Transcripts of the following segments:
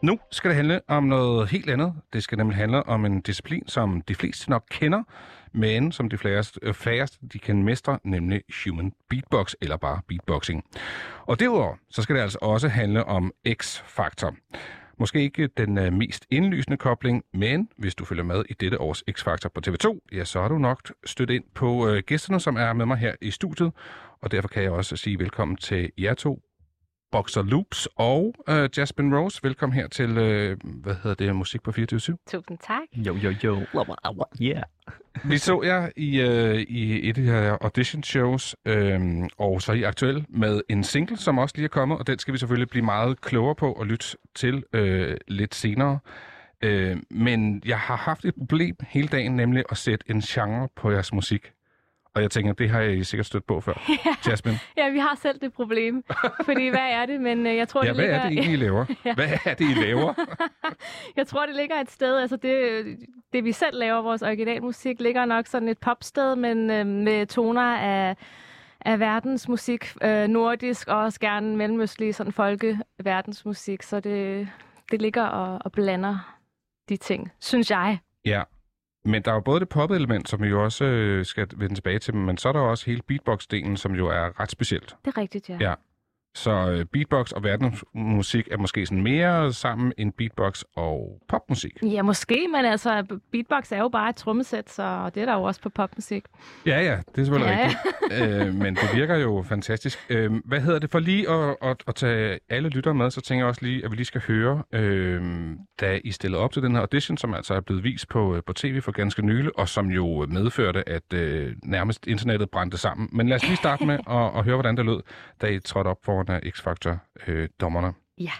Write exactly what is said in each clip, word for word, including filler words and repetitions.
Nu skal det handle om noget helt andet. Det skal nemlig handle om en disciplin, som de fleste nok kender, men som de færreste, færreste de kan mestre, nemlig human beatbox, eller bare beatboxing. Og derudover, så skal det altså også handle om X-Factor. Måske ikke den uh, mest indlysende kobling, men hvis du følger med i dette års X-Factor på T V to, ja, så har du nok stødt ind på uh, gæsterne, som er med mig her i studiet. Og derfor kan jeg også sige velkommen til jer to, Boxer Loops og uh, Jasmine Rose. Velkommen her til, uh, hvad hedder det, Musik på fireogtyve syv. Tusind tak. Jo, jo, jo. Yeah. Vi så jer i, uh, i et af de her audition shows, øhm, og så er I aktuel med en single, som også lige er kommet, og den skal vi selvfølgelig blive meget klogere på og lytte til øh, lidt senere. Øh, men jeg har haft et problem hele dagen, nemlig at sætte en genre på jeres musik. Og jeg tænker, det har I sikkert stødt på før. Ja. Jasmine? Ja, vi har selv det problem. Fordi hvad er det? Men øh, jeg tror, ja, det hvad ligger... er det egentlig, I laver? Ja. Hvad er det, I laver? Jeg tror, det ligger et sted, altså det, det vi selv laver, vores originalmusik, ligger nok sådan et popsted, men øh, med toner af, af verdensmusik, øh, nordisk og også gerne mellemøstlig sådan folkeverdensmusik. Så det, det ligger og, og blander de ting, synes jeg. Ja. Men der er jo både det pop-element, som vi jo også øh, skal vende tilbage til, men så er der også hele beatbox-delen, som jo er ret specielt. Det er rigtigt, ja. Ja. Så øh, beatbox og verdensmusik er måske sådan mere sammen end beatbox og popmusik. Ja, måske, men altså beatbox er jo bare et trommesæt, så det er der jo også på popmusik. Ja, ja, det er selvfølgelig ja, rigtigt. øh, men det virker jo fantastisk. Øh, hvad hedder det? For lige at, at, at tage alle lyttere med, så tænker jeg også lige, at vi lige skal høre, øh, da I stillede op til den her audition, som altså er blevet vist på, på tv for ganske nylig, og som jo medførte, at øh, nærmest internettet brændte sammen. Men lad os lige starte med at, at høre, hvordan det lød, da I trådte op foran af X-Factor-dommerne. Øh, ja.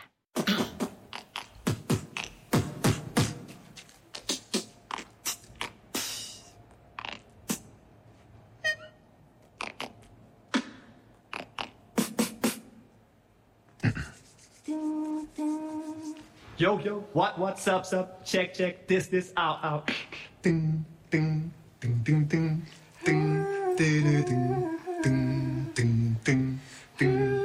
Yo, yo, what, what's up, sup? Check, check, this, this, out, out. Ding, ding, ding, ding, ding, ding, ding, ding, ding, ding, ding, ding.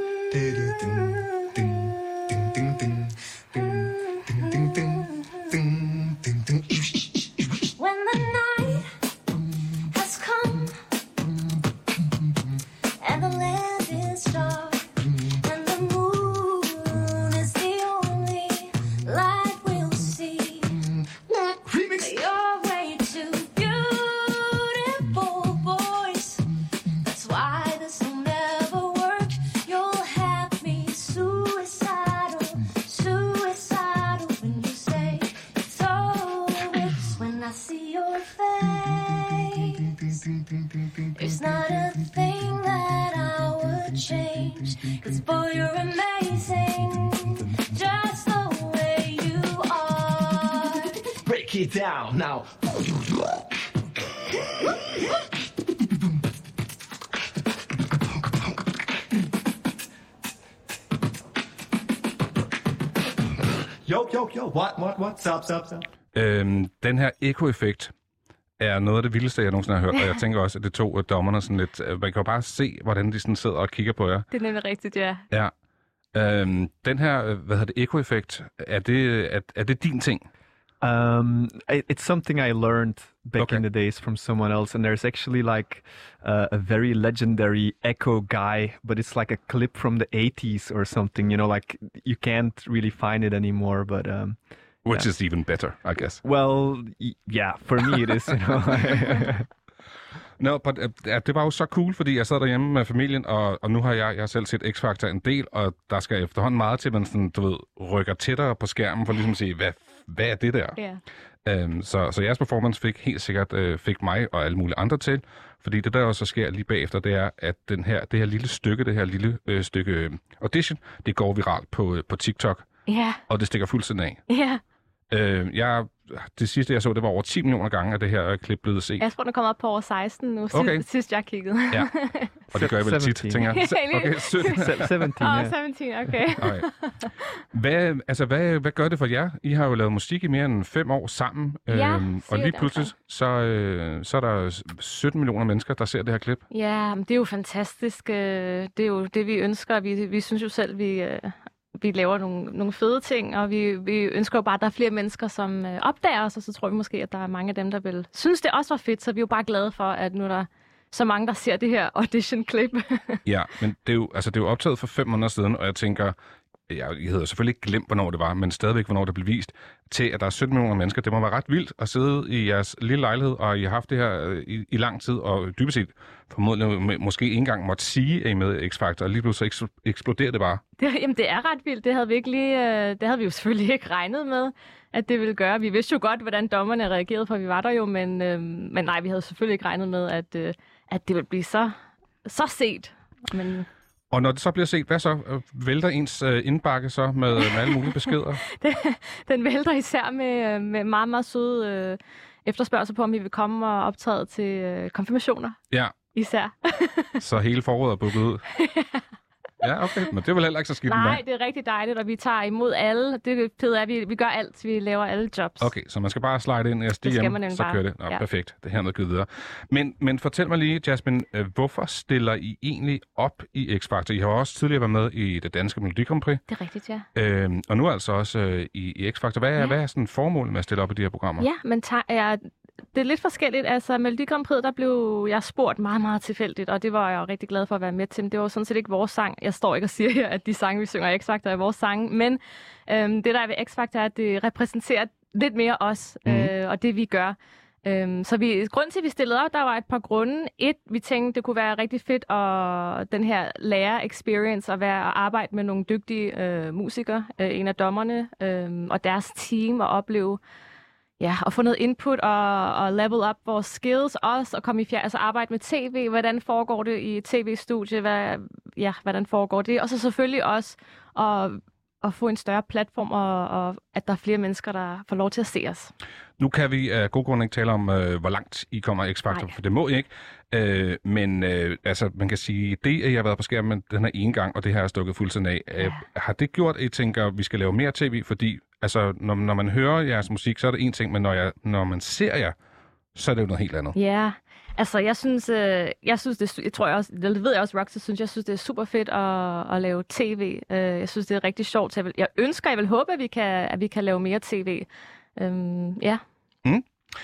When the night has come and the land is dark and the moon is the only light we'll see, you're way too beautiful, boys. That's why this will never work. You'll have me suicidal, suicidal when you say it's over. 'Cause when I see your face, there's not a thing that I would change. 'Cause boy, you're amazing, just the way you are. Break it down now. Yo, yo, yo, what, what, what's up, sup, sup? Øhm, den her ekoeffekt er noget af det vildeste, jeg nogensinde har hørt, og jeg tænker også, at det tog dommerne sådan lidt... Man kan jo bare se, hvordan de sådan sidder og kigger på jer. Det er nemlig rigtigt, ja. Ja. Øhm, den her, hvad hedder det, ekoeffekt, er det, er, er det din ting? Um, I, it's something I learned back Okay. in the days from someone else, and there's actually like uh, a very legendary echo guy, but it's like a clip from the eighties or something. You know, like you can't really find it anymore. But um, Which yeah. is even better, I guess. well, y- yeah, for me it is. You know. No, but, uh, det var jo så cool, fordi jeg sad derhjemme med familien, og, og nu har jeg, jeg har selv set X-Factor en del, og der skal efterhånden meget til, at man sådan, du ved, rykker tættere på skærmen for ligesom at sige, hvad, hvad er det der? Ja. Øhm, så, så jeres performance fik helt sikkert øh, fik mig og alle mulige andre til, fordi det der også sker lige bagefter, det er, at den her, det her lille stykke, det her lille øh, stykke øh, audition, det går viralt på, øh, på TikTok, Ja, og det stikker fuldstændig af. ja. Øh, jeg, det sidste, jeg så, det var over ti millioner gange, at det her klip blevet set. Jeg tror, den kommer op på over seksten nu, Okay. sidst, sidst jeg kiggede. Ja, og det gør jeg vel tit, sytten. tænker jeg. Ja, Okay, sytten. Se- seventeen. Åh, oh, Yeah. sytten, okay. Okay. Hvad, altså, hvad, hvad gør det for jer? I har jo lavet musik i mere end fem år sammen, Ja, øhm, og syv lige der pludselig, så, øh, så er der sytten millioner mennesker, der ser det her klip. Ja, men det er jo fantastisk. øh, Det er jo det, vi ønsker. Vi, vi synes jo selv, vi, øh, vi vi laver nogle, nogle fede ting, og vi, vi ønsker jo bare, at der er flere mennesker, som øh, opdager os, og så tror vi måske, at der er mange af dem, der vil synes, det også var fedt, så vi er jo bare glade for, at nu er der så mange, der ser det her audition-klip. Ja, men det er, jo, altså, det er jo optaget for fem måneder siden, og jeg tænker, jeg havde selvfølgelig ikke glemt, hvornår det var, men stadigvæk, hvornår det blev vist, til at der er sytten millioner mennesker. Det må være ret vildt at sidde i jeres lille lejlighed, og I har haft det her i, i lang tid, og dybest set formodentlig måske ikke engang måtte sige, at I med X-Factor, og lige pludselig så eksploderer det bare. Det, jamen, det er ret vildt. Det havde vi ikke lige, det havde vi jo selvfølgelig ikke regnet med, at det ville gøre. Vi vidste jo godt, hvordan dommerne reagerede, for vi var der jo, men, øh, men nej, vi havde selvfølgelig ikke regnet med, at, øh, at det ville blive så, så set. Men... Og når det så bliver set, hvad så? Vælter ens øh, indbakke så med, med alle mulige beskeder? det, den vælter især med, med meget, meget søde øh, efterspørgsel på, om vi vil komme og optræde til øh, konfirmationer. Ja. Især. Så hele foråret er booket ud? Ja, okay. Men det er vel heller ikke så skidt. Nej, det er rigtig dejligt, og vi tager imod alle. Det fede er, at vi, vi gør alt. Vi laver alle jobs. Okay, så man skal bare slide ind i S D M, så kører det. Nå, ja. Perfekt. Det er hermed givet videre. Men, men fortæl mig lige, Jasmine, hvorfor stiller I egentlig op i X-Factor? I har også tidligere været med i det danske Melodi Grand Prix. Det er rigtigt, ja. Øhm, og nu altså også øh, i, i X-Factor. Hvad er, ja. hvad er sådan formålet med at stille op i de her programmer? Ja, men ta- ja, det er lidt forskelligt. Altså, Melodi Grand Prix, der blev jeg spurgt meget, meget tilfældigt, og det var jeg rigtig glad for at være med til. Men det var sådan set ikke vores sang. Jeg står ikke og siger her, at de sange, vi synger i X-Factor, er vores sange. Men øhm, det, der er ved X-Factor, er, at det repræsenterer lidt mere os, mm. øh, og det vi gør. Øhm, så vi, grunden til, at vi stillede op, der var et par grunde. Et, vi tænkte, det kunne være rigtig fedt at den her lærer-experience at være at arbejde med nogle dygtige øh, musikere, øh, en af dommerne, øh, og deres team, og opleve ja, at få noget input og, og level up vores skills også, og komme i fjern, altså arbejde med tv, hvordan foregår det i tv-studie, hvad, ja, hvordan foregår det, og så selvfølgelig også at, at få en større platform, og, og at der er flere mennesker, der får lov til at se os. Nu kan vi af god grund ikke tale om, øh, hvor langt I kommer i X-Factor, for det må I ikke. Øh, men øh, altså, man kan sige, det, at jeg har været på skærmen den her ene gang, og det her er stukket fuldstændig af, ja. øh, har det gjort, at I tænker, at vi skal lave mere tv? Fordi altså, når, når man hører jeres musik, så er det en ting, men når, jeg, når man ser jer, så er det jo noget helt andet. Ja, altså jeg synes, øh, jeg synes det, jeg tror jeg også, det ved jeg også, Roxy synes, jeg synes, det er super fedt at, at lave tv. Uh, jeg synes, det er rigtig sjovt. Så jeg, vil, jeg ønsker, jeg vil håbe, at vi kan, at vi kan lave mere tv. Um, ja. Mm.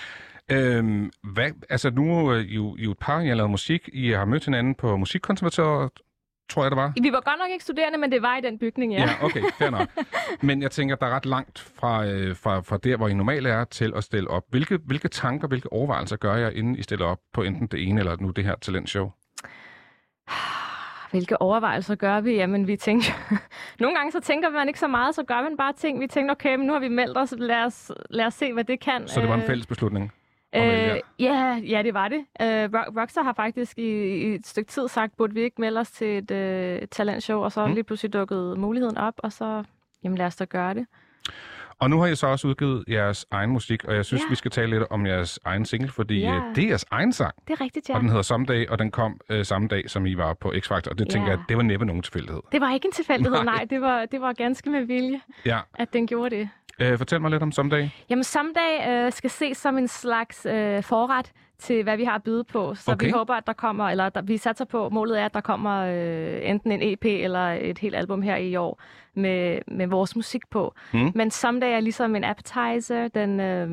Øhm, hvad, altså nu er I jo, I jo et par, I har lavet musik. I har mødt hinanden på Musikkonservatoriet, tror jeg, det var. Vi var godt nok ikke studerende, men det var i den bygning, ja. Ja, okay, fair nok. Men jeg tænker, der er ret langt fra, øh, fra, fra der, hvor I normalt er, til at stille op. Hvilke, hvilke tanker, hvilke overvejelser gør jeg, inden I stiller op på enten det ene eller nu det her talentshow? Hvilke overvejelser gør vi? Jamen, vi tænker... Nogle gange så tænker man ikke så meget, så gør man bare ting. Vi tænker, okay, men nu har vi meldt os, lad os, lad os se, hvad det kan. Så det var en fælles beslutning? Øh, ja, ja, det var det. Uh, Rockstar har faktisk i, i et stykke tid sagt, burde vi ikke melde os til et uh, talentshow, og så mm. lige pludselig dukket muligheden op, og så jamen, lad os da gøre det. Og nu har I så også udgivet jeres egen musik, og jeg synes, ja. vi skal tale lidt om jeres egen single, fordi ja. det er jeres egen sang. Det er rigtigt, ja. Og den hedder Someday, og den kom øh, samme dag, som I var på X-Factor, og det ja. tænker jeg, det var næppe nogen tilfældighed. Det var ikke en tilfældighed, nej. nej. Det var, det var ganske med vilje, ja. at den gjorde det. Øh, fortæl mig lidt om Someday. Jamen, Someday øh, skal ses som en slags øh, forret til, hvad vi har at byde på. Så okay. vi håber, at der kommer, eller der, vi satser på, målet er, at der kommer øh, enten en E P eller et helt album her i år med, med vores musik på. Mm. Men Someday er ligesom en appetizer. Den, øh,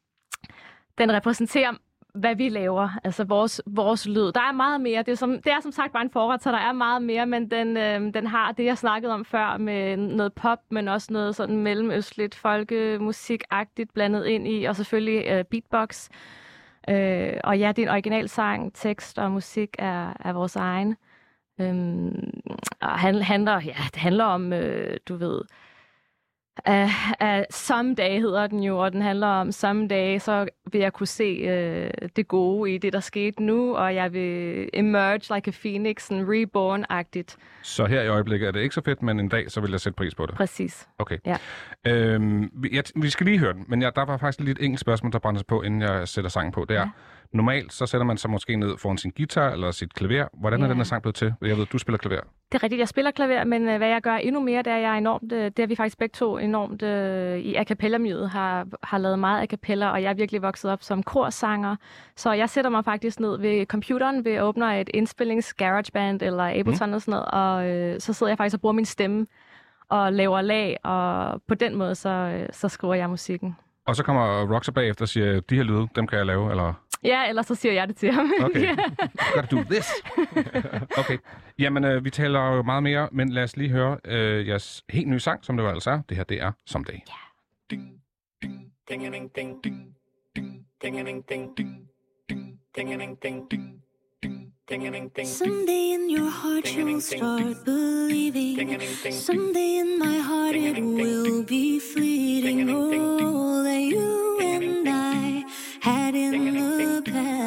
den repræsenterer, hvad vi laver, altså vores, vores lyd. Der er meget mere. Det er, som, det er som sagt bare en forret, så der er meget mere, men den, øh, den har det, jeg snakkede om før, med noget pop, men også noget sådan mellemøstligt, folkemusikagtigt blandet ind i, og selvfølgelig øh, beatbox. Øh, og ja, det er en original sang, tekst og musik er, er vores egen. Øhm, og handler, handler, ja, det handler om, øh, du ved, Uh, uh, Someday hedder den jo, og den handler om someday, så vil jeg kunne se uh, det gode i det, der skete nu, og jeg vil emerge like a phoenix, en reborn-agtigt. Så her i øjeblikket er det ikke så fedt, men en dag, så vil jeg sætte pris på det? Præcis. Okay. Ja. Øhm, vi, jeg, vi skal lige høre den, men jeg, der var faktisk lige et enkelt spørgsmål, der brænder sig på, inden jeg sætter sangen på. Det er, ja. Normalt så sætter man sig måske ned foran sin guitar eller sit klaver. Hvordan er ja. den her sang blevet til? Jeg ved, du spiller klaver. Det er rigtigt, jeg spiller klaver, men uh, hvad jeg gør endnu mere, det er, jeg er enormt, uh, det er vi faktisk begge to enormt uh, i a cappella-miljøet, har, har lavet meget a cappella, og jeg er virkelig vokset op som korsanger. Så jeg sætter mig faktisk ned ved computeren, ved åbner et indspillings GarageBand eller Ableton mm. og sådan noget, og uh, så sidder jeg faktisk og bruger min stemme og laver lag, og på den måde, så, øh, så skriver jeg musikken. Og så kommer Roxer bagefter og siger, de her lyde, dem kan jeg lave, eller? Ja, ellers så siger jeg det til ham. Okay, you gotta do this. Okay, jamen øh, vi taler jo meget mere, men lad os lige høre øh, jeres helt nye sang, som det jo altså er. Det her, det er Someday. Ja. Ding, ding, ding, ding, ding, ding, ding, ding, ding, ding, ding, ding, ding, ding, ding, ding. Someday in your heart you'll start believing. Someday in my heart it will be fleeting. Oh, that you and I had in the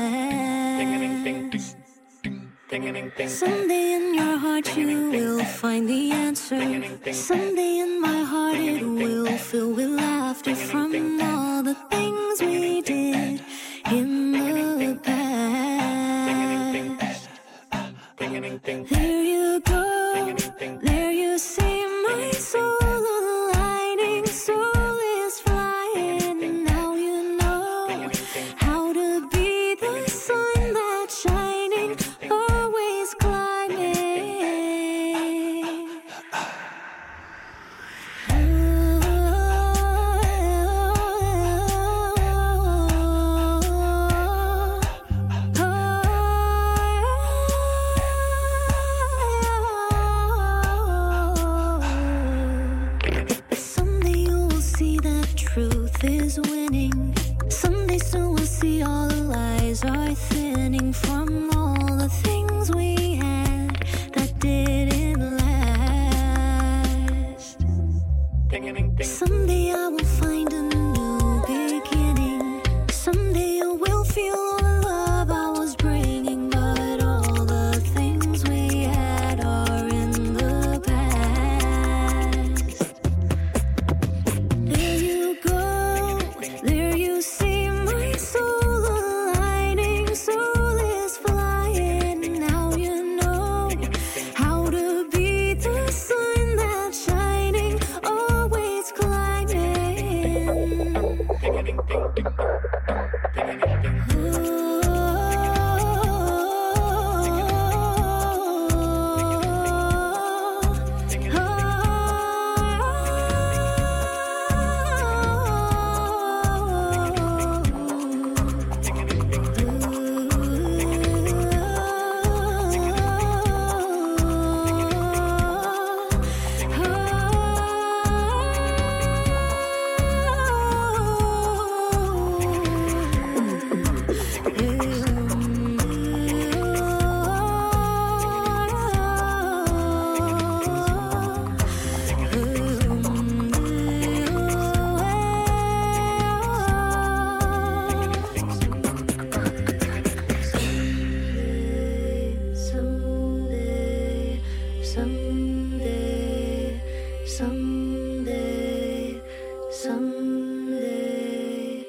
past. Someday in your heart you will find the answer. Someday in my heart it will fill with laughter from all the things we did in the past. There you go, there you see my soul aligning, soul is flying, and now you know how to be the sun that's shining, always climbing. Truth is winning. Someday soon we'll see all the lies are thinning from all the things we had that didn't last. Someday I will find a new beginning. Someday you will feel all the love I was bringing, but all the things we had are in the past. There you go, there you see my soul aligning, soul is flying, now you know how to be the sun that's shining, always climbing. Someday, someday, someday,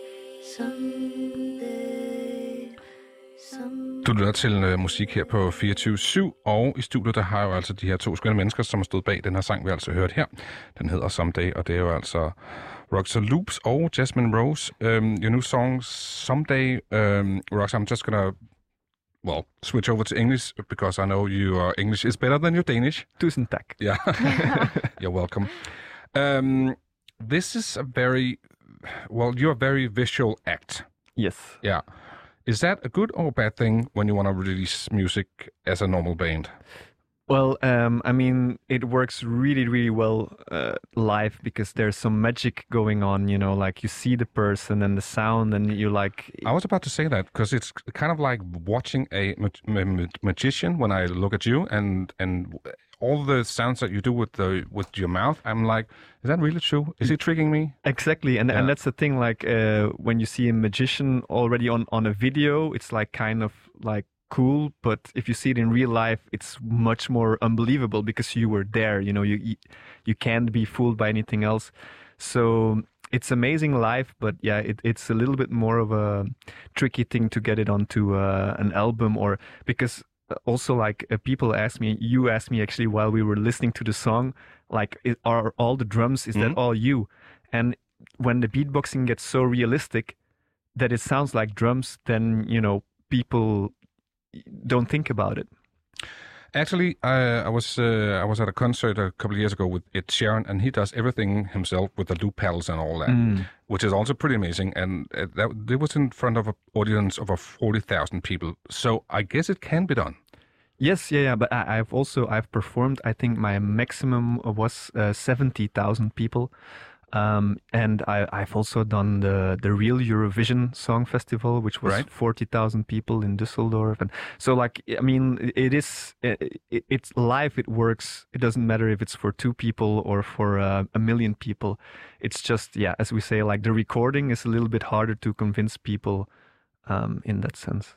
someday, someday. Du lytter til uh, musik her på fireogtyve syv, og i studiet der har jeg jo altså de her to skønne mennesker, som har stået bag den her sang, vi altså hørt her. Den hedder Someday, og det er jo altså Roxer Loops og Jasmine Rose. Um, your new song, Someday. Um, Roxer, I'm just gonna, well, switch over to English, because I know your English is better than your Danish. Tusind tak. Yeah, you're welcome. Um, this is a very, well, you're a very visual act. Yes. Yeah. Is that a good or a bad thing when you want to release music as a normal band? Well, um, I mean, it works really, really well uh, live because there's some magic going on, you know, like you see the person and the sound and you like... I was about to say that because it's kind of like watching a ma- ma- magician when I look at you and and all the sounds that you do with the with your mouth. I'm like, is that really true? Is he tricking me? Exactly, and Yeah. and that's the thing, like uh, when you see a magician already on, on a video, it's like kind of like cool, but if you see it in real life, it's much more unbelievable because you were there, you know, you you, you can't be fooled by anything else. So it's amazing live, but yeah, it, it's a little bit more of a tricky thing to get it onto uh, an album, or because also like uh, people ask me, you asked me actually while we were listening to the song, like it, are all the drums, is Mhm. that all you? And when the beatboxing gets so realistic that it sounds like drums, then, you know, people don't think about it. Actually, I, I was uh, I was at a concert a couple of years ago with Ed Sheeran, and he does everything himself with the loop pedals and all that, Mm. which is also pretty amazing. And uh, that it was in front of an audience of over forty thousand people. So I guess it can be done. Yes, yeah, yeah. But I, I've also I've performed. I think my maximum was uh, seventy thousand people, um, and I, I've also done the the real Eurovision Song Festival, which was Right. forty thousand people in Düsseldorf, and so like I mean, it- it is it, it, it's live. It works. It doesn't matter if it's for two people or for uh, a million people. It's just yeah, as we say, like the recording is a little bit harder to convince people, um, in that sense.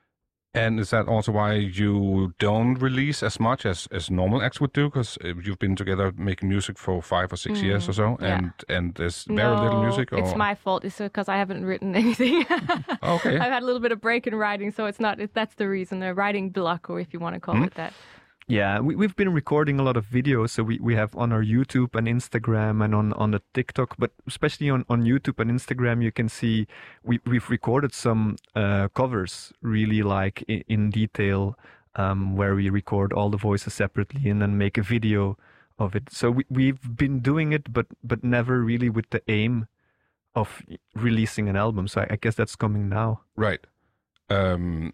And is that also why you don't release as much as, as normal acts would do? Because you've been together making music for five or six years or so, yeah. and and there's very little No, music. Or... It's my fault. It's because I haven't written anything. Okay. I've had a little bit of break in writing, so it's not. It, that's the reason. A writing block, or if you want to call Hmm? it that. Yeah, we, we've been recording a lot of videos, so we, we have on our YouTube and Instagram and on, on the TikTok, but especially on, on YouTube and Instagram, you can see we, we've recorded some uh, covers really like in, in detail, um, where we record all the voices separately and then make a video of it. So we, we've been doing it, but, but never really with the aim of releasing an album. So I, I guess that's coming now. Right. Um,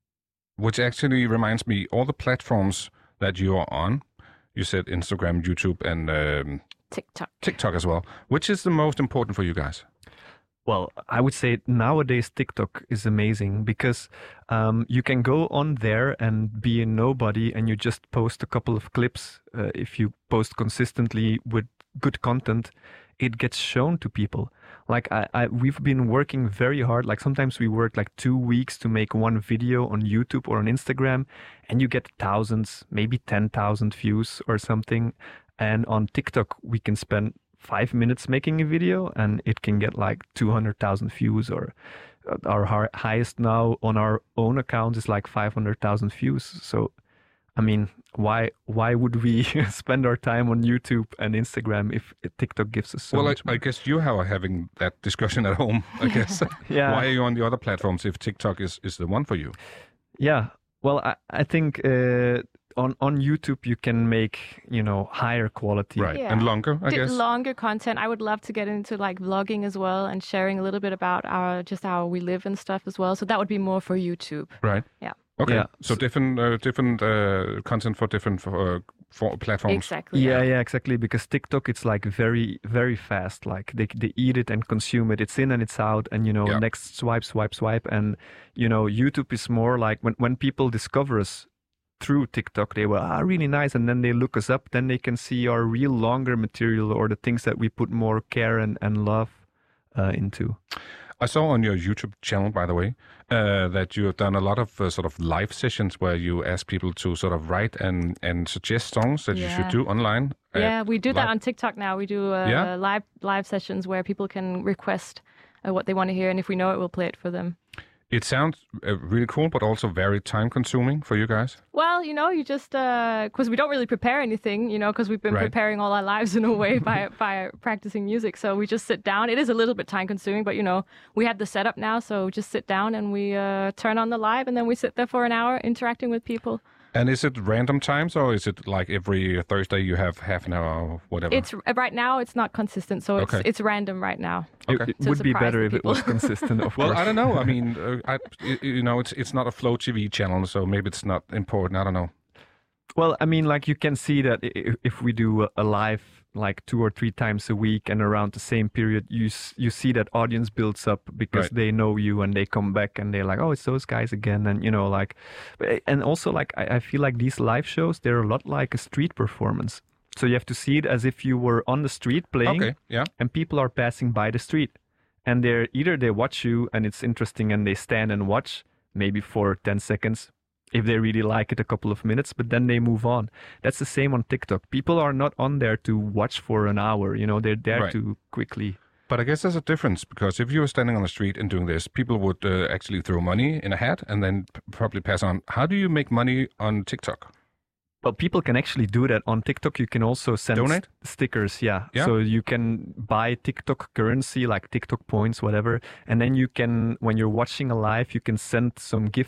which actually reminds me, all the platforms that you are on, you said Instagram, YouTube, and um, TikTok. TikTok as well. Which is the most important for you guys? Well, I would say nowadays TikTok is amazing because um, you can go on there and be a nobody and you just post a couple of clips. Uh, if you post consistently with good content, it gets shown to people. Like I, I, we've been working very hard. Like sometimes we work like two weeks to make one video on YouTube or on Instagram, and you get thousands, maybe ten thousand views or something. And on TikTok, we can spend five minutes making a video, and it can get like two hundred thousand views. Or uh, our hi- highest now on our own account is like five hundred thousand views. So, I mean, why why would we spend our time on YouTube and Instagram if TikTok gives us so well, much I, I more? guess you are having that discussion at home, I guess. Yeah. Why are you on the other platforms if TikTok is, is the one for you? Yeah. Well, I, I think uh, on on YouTube you can make, you know, higher quality. Right. Yeah. And longer, I D- guess. Longer content. I would love to get into like vlogging as well and sharing a little bit about our just how we live and stuff as well. So that would be more for YouTube. Right. Yeah. Okay. Yeah. So different uh, different uh, content for different uh, for platforms. Exactly. Yeah, yeah, exactly. Because TikTok, it's like very, very fast. Like they they eat it and consume it. It's in and it's out, and you know, Yeah. next swipe, swipe, swipe. And you know, YouTube is more like when when people discover us through TikTok, they were ah really nice, and then they look us up. Then they can see our real longer material or the things that we put more care and and love uh, into. I saw on your YouTube channel, by the way, uh, that you have done a lot of uh, sort of live sessions where you ask people to sort of write and, and suggest songs that you should Yeah. do online. Uh, Yeah, we do that live- on TikTok now. We do uh, Yeah? live live sessions where people can request uh, what they want to hear, and if we know it, we'll play it for them. It sounds uh, really cool, but also very time consuming for you guys. Well, you know, you just because we don't really prepare anything, you know, because we've been Right. preparing all our lives in a way by by practicing music. So we just sit down. It is a little bit time consuming, but you know, we have the setup now, so we just sit down and we uh, turn on the live, and then we sit there for an hour interacting with people. And is it random times, or is it like every Thursday you have half an hour or whatever? It's right now. It's not consistent, so it's Okay. it's random right now. Okay. It, it To would be surprise better the if it people. was consistent, of Well, course. I don't know. I mean, uh, I, y- you know, it's it's not a Flow T V channel, so maybe it's not important. I don't know. Well, I mean, like you can see that i- i- if we do a- a live like two or three times a week and around the same period, you s- you see that audience builds up because Right. they know you and they come back and they're like, oh, it's those guys again, and you know, like, and also like I, I feel like these live shows, they're a lot like a street performance. So you have to see it as if you were on the street playing, Okay. Yeah. and people are passing by the street, and they're either they watch you and it's interesting and they stand and watch maybe for ten seconds if they really like it, a couple of minutes, but then they move on. That's the same on TikTok. People are not on there to watch for an hour, you know, they're there Right. to quickly. But I guess there's a difference because if you were standing on the street and doing this, people would uh, actually throw money in a hat and then p- probably pass on. How do you make money on TikTok? Well, people can actually do that on TikTok. You can also send Donate? s- stickers, yeah. Yeah. So you can buy TikTok currency, like TikTok points, whatever, and then you can, when you're watching a live, you can send some gifts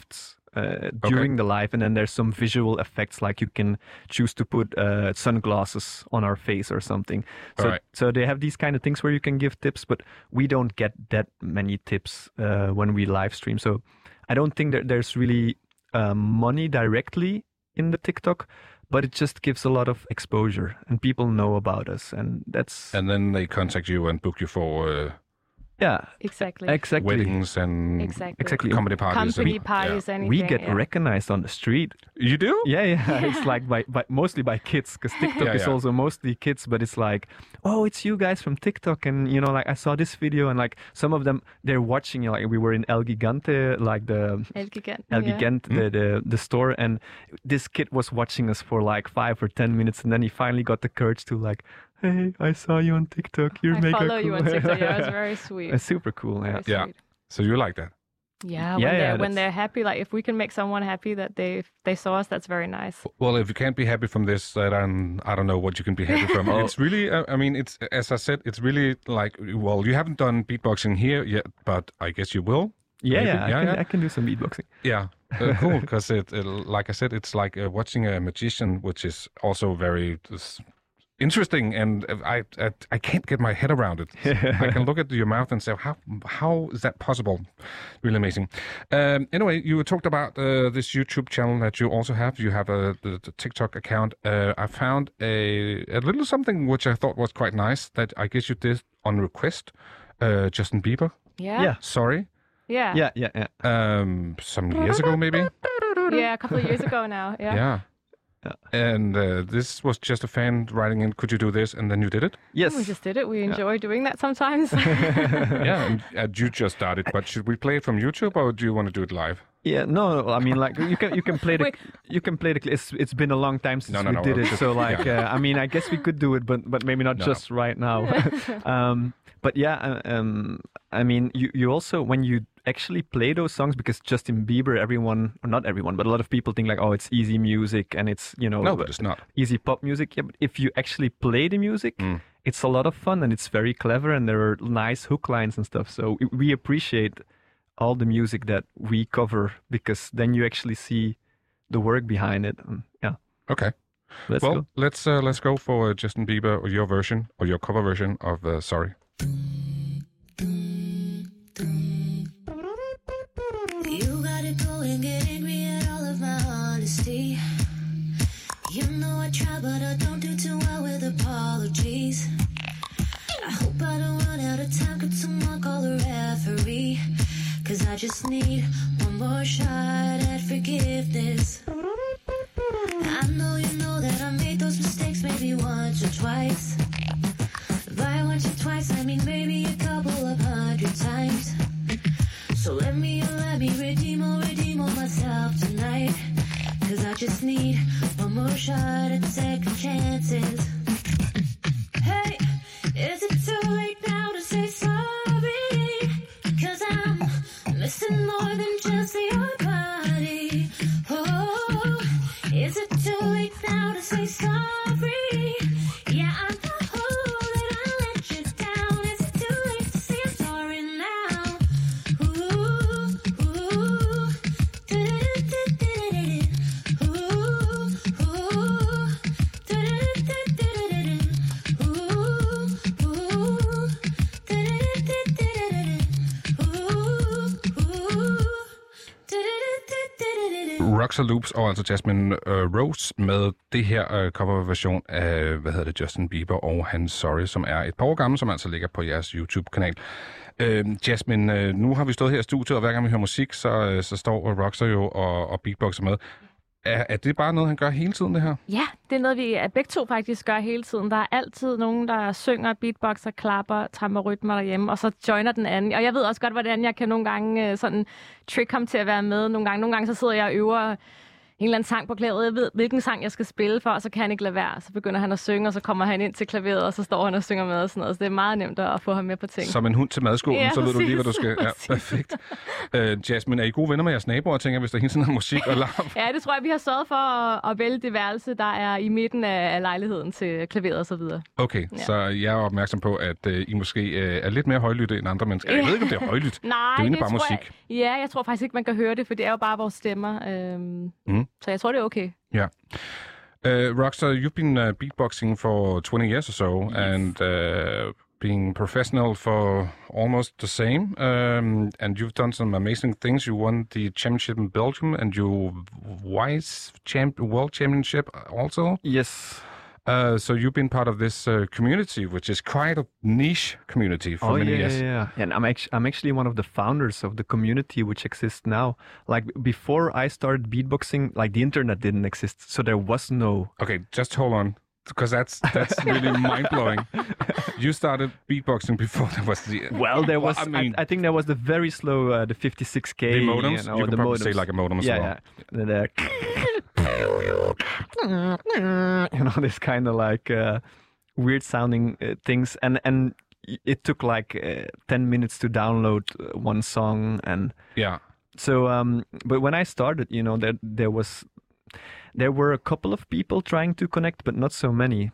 uh, during the live, and then there's some visual effects, like you can choose to put uh, sunglasses on our face or something. So, Alright. so they have these kind of things where you can give tips, but we don't get that many tips uh, when we live stream. So I don't think that there's really uh, money directly in the TikTok, but it just gives a lot of exposure, and people know about us, and that's And then they contact you and book you for uh, yeah, Exactly. exactly. weddings and Exactly. Exactly. comedy parties. Company and, parties, anything. We get yeah. recognized on the street. Yeah. You do? Yeah, yeah. It's like by, by mostly by kids, because TikTok Yeah, is yeah. also mostly kids. But it's like, oh, it's you guys from TikTok, and you know, like I saw this video, and like some of them they're watching. You know, like we were in El Gigante, like the El Gigant. El yeah. Gigante, the, the the store, and this kid was watching us for like five or ten minutes, and then he finally got the courage to like, hey, I saw you on TikTok. You're I mega follow cool. you on TikTok. Yeah, it was very sweet. It's super cool. Very Yeah. Yeah. sweet. So you like that? Yeah, when Yeah, they're yeah, when that's- they're happy, like if we can make someone happy that they they saw us, that's very nice. Well, if you can't be happy from this, then I don't know what you can be happy from. Oh. It's really, uh, I mean, it's as I said, it's really like, well, you haven't done beatboxing here yet, but I guess you will. Yeah, Maybe. yeah, I Yeah, can, yeah. I can do some beatboxing. Yeah, uh, cool. Because it, it, like I said, it's like uh, watching a magician, which is also very uh, interesting, and I, I I can't get my head around it. I can look at your mouth and say, how how is that possible? Really amazing. Um, anyway, you talked about uh, this YouTube channel that you also have. You have a the, the TikTok account. Uh, I found a a little something which I thought was quite nice that I guess you did on request. Uh, Justin Bieber. Yeah. Yeah. Sorry. Yeah. Yeah, yeah, yeah. Um, some years ago, maybe. Yeah, a couple of years ago now. Yeah. Yeah. Yeah. And uh, this was just a fan writing in, could you do this? And then you did it? Yes. We just did it. We enjoy doing that sometimes. Yeah, and, and you just started. But should we play it from YouTube or do you want to do it live? Yeah, no, no, I mean, like you can you can play the Wait. you can play the. cl- It's it's been a long time since No, no, we no, did uh, it, just- so like yeah. uh, I mean, I guess we could do it, but but maybe not No, just right now. um, but yeah, uh, um, I mean, you you also when you actually play those songs, because Justin Bieber, everyone, or not everyone, but a lot of people think like, oh, it's easy music and it's you know No, but it's not. easy pop music. Yeah, but if you actually play the music, Mm. it's a lot of fun and it's very clever and there are nice hook lines and stuff. So we- we appreciate all the music that we cover, because then you actually see the work behind it. And yeah, Okay. let's well, go. let's uh, let's go for uh, Justin Bieber, or your version, or your cover version of uh, Sorry. You got it going, get angry at all of my honesty. You know I try, but I don't do too well with apologies. I hope I don't run out of time, could someone call a referee? Cause I just need one more shot at forgiveness. I know you know that I made those mistakes maybe once or twice. By once or twice, I mean maybe a couple of hundred times. So let me, let me redeem or redeem all myself tonight. Cause I just need one more shot at second chances. Hey, is it too late now to say sorry? Cause I'm missing more than just your body. Oh, is it too late now to say sorry? Yeah, I know that I let you down. Is it too late to say I'm sorry now? Ooh, ooh, do-do-do-do-do-do. Ooh, ooh, do-do-do-do-do-do. Ooh, ooh, do-do-do-do-do-do. Ooh, ooh, do-do-do-do-do-do. Roxer Loops og altså Jasmine øh, Rose med det her øh, coverversion af, hvad hedder det, Justin Bieber og hans Sorry, som er et par år gammel, som altså ligger på jeres YouTube-kanal. Øh, Jasmine, øh, nu har vi stået her i studiet, og hver gang vi hører musik, så, øh, så står Roxer jo og, og beatboxer med. Er, er det bare noget, han gør hele tiden, det her? Ja, det er noget, vi begge to faktisk gør hele tiden. Der er altid nogen, der synger, beatboxer, klapper, tramper rytmer derhjemme, og så joiner den anden. Og jeg ved også godt, hvordan jeg kan nogle gange øh, sådan trick ham til at være med. Nogle gange, nogle gange så sidder jeg og øver en eller anden sang på klaveret, jeg ved, hvilken sang jeg skal spille for, og så kan han ikke lade være. Så begynder han at synge, og så kommer han ind til klaveret, og så står han og synger med og sådan noget. Så det er meget nemt at få ham med på ting. Som en hund til madskålen, Ja, så ved du lige, hvad du præcis. skal. Ja, perfekt. Uh, Jasmine, er I gode venner med jeres naboer, tænker, hvis der hele tiden er musik og larm? Ja, det tror jeg, vi har sørget for at, at vælge det værelse, der er i midten af, af lejligheden til klaveret og så videre. Okay, ja. Så jeg er opmærksom på, at uh, I måske uh, er lidt mere højlytte end andre mennesker. Jeg ved ikke, om det er højlydt. Nej, det er jo egentlig bare tror musik. Jeg, ja, jeg tror faktisk ikke, man kan høre det, for det er jo bare vores stemmer. Øhm, Mm. Så jeg tror, det er okay. Yeah. Uh, Rockstar, you've been uh, beatboxing for twenty years or so, yes. and uh, being professional for almost the same. Um, and you've done some amazing things. You won the championship in Belgium, and you vice champ world championship also. Yes. Uh, so you've been part of this uh, community, which is quite a niche community for oh, many yeah, years. yeah, yeah. And I'm actually I'm actually one of the founders of the community which exists now. Like before I started beatboxing, like the internet didn't exist, so there was no. Okay, just hold on, because that's that's really mind blowing. You started beatboxing before there was the. Well, there was. I I, mean, I, think there was the very slow, uh, the fifty-six K. the modems. You, know, you can the probably modems. say like a modem as yeah, well. yeah. And, uh, you know, this kind of like uh, weird sounding uh, things, and and it took like uh, ten minutes to download uh, one song, and Yeah. so. Um, but when I started, you know, there there was there were a couple of people trying to connect, but not so many.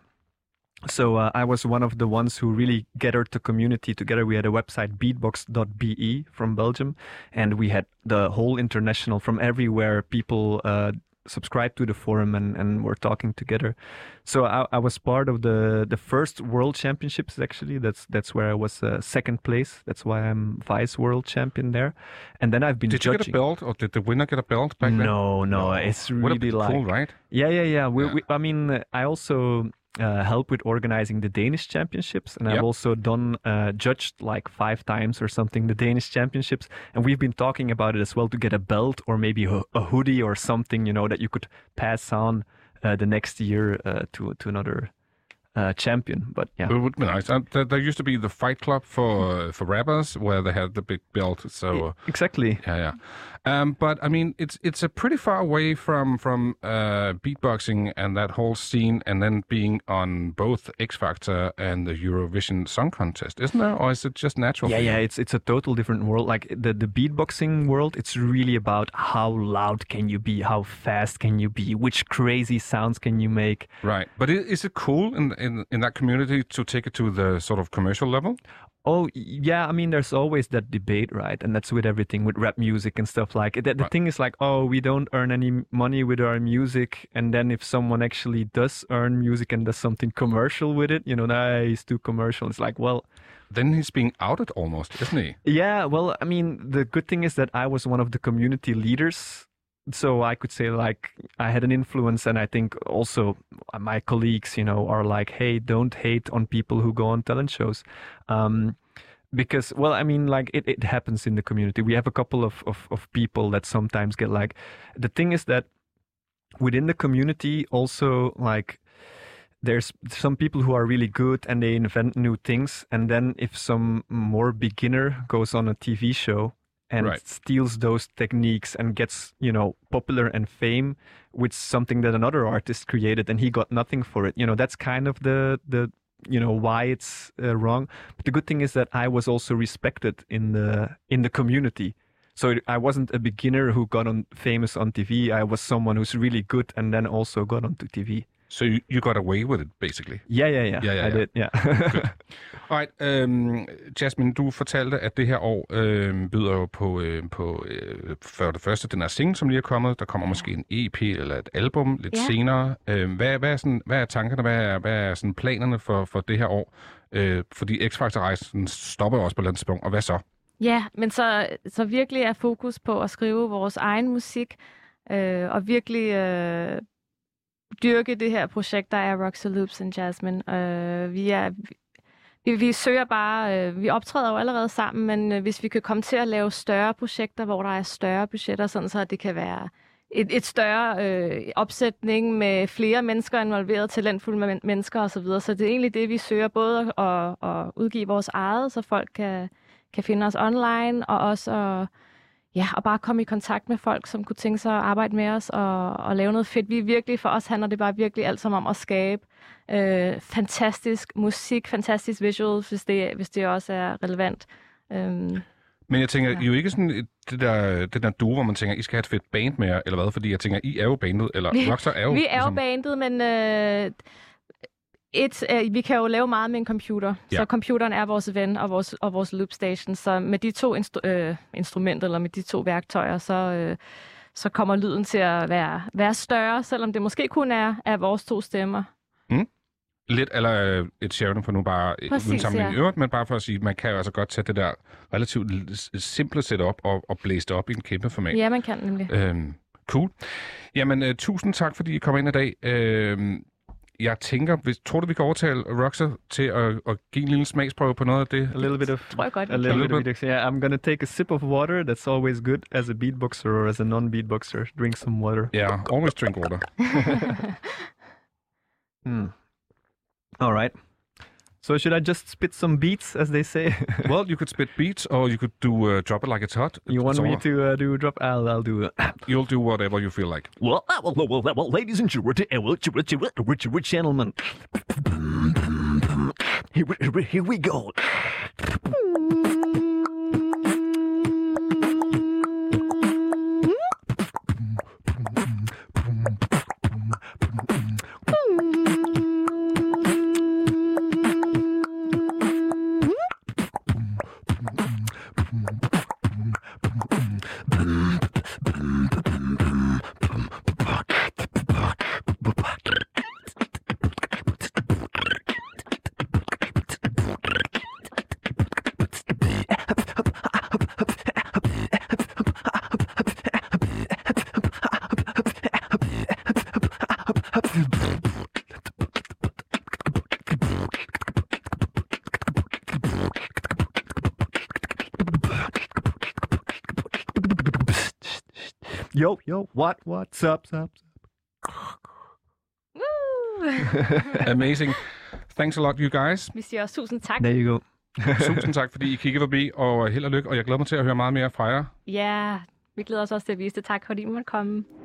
So uh, I was one of the ones who really gathered the community together. We had a website, beatbox dot b e from Belgium, and we had the whole international from everywhere. People uh, subscribed to the forum and, and were talking together. So I, I was part of the, the first World Championships. Actually, that's that's where I was uh, second place. That's why I'm vice world champion there. And then I've been Did judging. you get a belt, or did the winner get a belt back then? No, no, it's Would have really been like cool, right? yeah, yeah, yeah. We, Yeah. we, I mean, uh, I also uh, help with organizing the Danish championships, and Yep. I've also done uh, judged like five times or something the Danish championships, and we've been talking about it as well to get a belt or maybe a, a hoodie or something, you know, that you could pass on uh, the next year uh, to to another uh, champion. But yeah, It would be nice. Uh, there, there used to be the Fight Club for uh, for rappers, where they had the big belt. So uh, exactly. yeah, yeah. Um, but I mean, it's it's a pretty far away from from uh, beatboxing and that whole scene, and then being on both X Factor and the Eurovision Song Contest, isn't there? Or is it just natural? Yeah, for you? yeah, it's it's a total different world. Like the the beatboxing world, it's really about how loud can you be, how fast can you be, which crazy sounds can you make. Right. But i- is it cool in in in that community to take it to the sort of commercial level? Oh yeah, I mean, there's always that debate, right? And that's with everything, with rap music and stuff like. The, the Right. thing is like, oh, we don't earn any money with our music, and then if someone actually does earn music and does something commercial with it, you know, nah, he's too commercial. It's like, well, Then he's being outed almost, isn't he? yeah, well, I mean, the good thing is that I was one of the community leaders. So I could say like I had an influence, and I think also my colleagues, you know, are like, hey, don't hate on people who go on talent shows. Um, because, well, I mean, like it, it happens in the community. We have a couple of, of, of people that sometimes get like, the thing is that within the community also, like, there's some people who are really good and they invent new things. And then if some more beginner goes on a T V show and Right. steals those techniques and gets, you know, popular and fame with something that another artist created and he got nothing for it, you know, that's kind of the, the, you know, why it's uh, wrong. But the good thing is that I was also respected in the, in the community. So it, I wasn't a beginner who got on famous on T V. I was someone who's really good and then also got onto T V. So you, you got away with it, basically. Yeah, yeah, yeah. Yeah, yeah, I yeah. did, yeah. Alright, um, Jasmine, du fortalte, at det her år øh, byder jo på, øh, på øh, for det første den her single, som lige er kommet. Der kommer måske en E P eller et album lidt Ja. senere. Øh, hvad, hvad, er sådan, hvad er tankerne, hvad er, hvad er sådan planerne for, for det her år? Øh, fordi X-Factor-rejsen stopper jo også på et eller andet tidspunkt, og hvad så? Ja, men så, så virkelig er fokus på at skrive vores egen musik, øh, og virkelig øh, dyrke det her projekt, der er Rockstar Loops and Jasmine. Øh, vi er... Vi, vi søger bare, øh, vi optræder jo allerede sammen, men øh, hvis vi kan komme til at lave større projekter, hvor der er større budgetter, sådan så det kan være et, et større øh, opsætning med flere mennesker involveret, talentfulde men- mennesker osv. Så, videre. Så det er egentlig det, vi søger, både at, at udgive vores eget, så folk kan, kan finde os online, og også at ja, og bare komme i kontakt med folk, som kunne tænke sig at arbejde med os og, og lave noget fedt. Vi er virkelig, for os handler det bare virkelig alt sammen om at skabe øh, fantastisk musik, fantastisk visuals, hvis det, hvis det også er relevant. Øhm, Men jeg tænker, Ja. I er jo ikke sådan et- det der, det der duo, hvor man tænker, I skal have et fedt band med jer, eller hvad? Fordi jeg tænker, I er jo bandet, eller Vi- Rockstar er jo... vi er jo ligesom- bandet, men øh, et, øh, vi kan jo lave meget med en computer. Ja. Så computeren er vores ven og vores, og vores loopstation. Så med de to instru- øh, instrumenter, eller med de to værktøjer, så, øh, så kommer lyden til at være, være større, selvom det måske kun er af vores to stemmer. Lidt eller øh, et Sheridan for nu bare Præcis, uden sammenligning ja. i øvrigt, men bare for at sige, man kan jo altså godt tage det der relativt l- simple setup og, og blæse det op i en kæmpe format. Ja, man kan nemlig. Øhm, cool. Jamen, uh, tusind tak, fordi I kom ind i dag. Øhm, jeg tænker, hvis, tror du, vi kan overtale Rockstar til at, at give en lille smagsprøve på noget af det? A little bit of Tror jeg godt, a vi little kan. bit of it. Yeah, I'm gonna take a sip of water. That's always good as a beatboxer or as a non-beatboxer. Drink some water. Ja, yeah, always drink water. Hmm. All right. So should I just spit some beats, as they say? Well, you could spit beats, or you could do uh, drop it like it's hot. You want It's me all- to uh, do drop? I'll I'll do. Uh, You'll do whatever you feel like. Well, well, well, well, well, ladies and gentlemen, gentlemen, here, we- here we go. yo yo, what what's up, up? Woo! Amazing. Thanks a lot, you guys. Vi siger også tusind tak. There you go. Tusind tak, fordi I kiggede forbi, og held og lykke, og jeg glæder mig til at høre meget mere fra jer. Ja, vi glæder os også til at vise det. Tak, fordi I måtte komme.